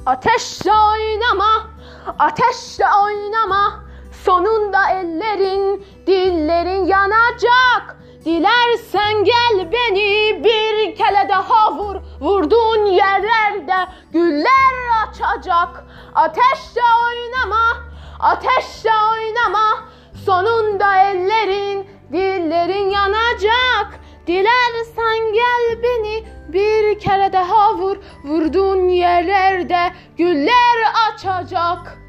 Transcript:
Ateşle oynama, ateşle oynama. Sonunda ellerin, dillerin yanacak. Dilersen gel beni bir kere daha vur. Vurduğun yerlerde güller açacak. Ateşle oynama, ateşle oynama. Sonunda ellerin, dillerin yanacak. Dilersen gel beni bir kere daha vur. Vurduğun yerlerde güller açacak.